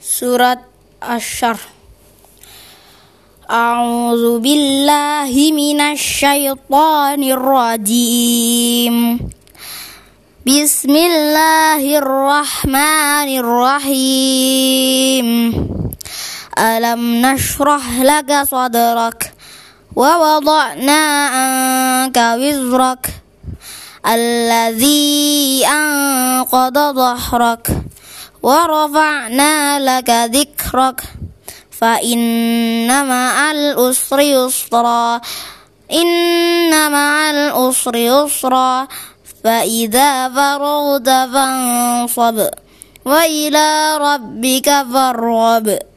Surat Asy-Syarh. A'udzu billahi minasyaitonir rajim. Bismillahirrahmanirrahim. Alam nashrah laka sadrak wa wada'na anka wizrak alladzi anqadha dhahrak wa rafa'na laka dzikrak fa inna ma'al usri yusra fa idza faragta fansab wa ila rabbika farghab.